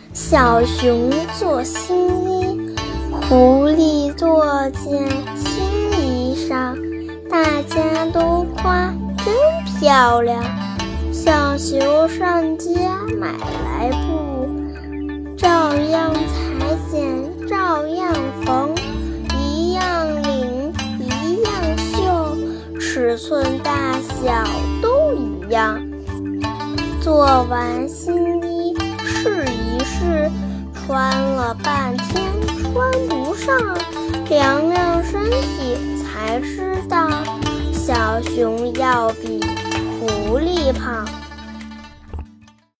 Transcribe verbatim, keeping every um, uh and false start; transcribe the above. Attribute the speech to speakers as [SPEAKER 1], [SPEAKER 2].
[SPEAKER 1] 小熊做新衣，狐狸做件新衣裳，大家都夸真漂亮。小熊上街买来布，照样裁剪，照样缝，一样领，一样绣，尺寸大小都一样。做完新衣试一试，穿了半天穿不上，量量身体才知道，小熊要比狐狸胖。